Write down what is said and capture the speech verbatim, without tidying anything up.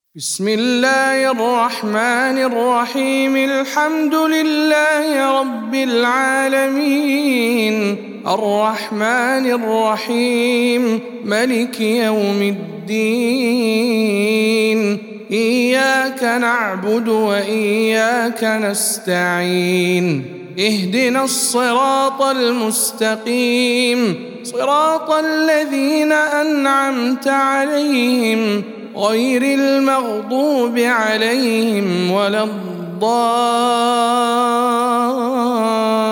بسم الله الرحمن الرحيم. الحمد لله رب العالمين، الرحمن الرحيم، ملك يوم الدين. إياك نعبد وإياك نستعين، اهدنا الصراط المستقيم، صراط الذين أنعمت عليهم غير المغضوب عليهم ولا الضالين.